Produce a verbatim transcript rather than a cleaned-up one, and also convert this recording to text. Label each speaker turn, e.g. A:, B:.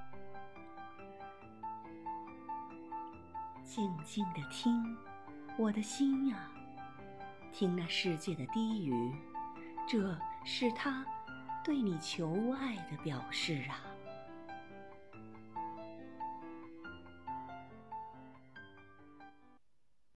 A: 静静地听，我的心呀，听那世界的低语，这是他对你求爱的表示啊。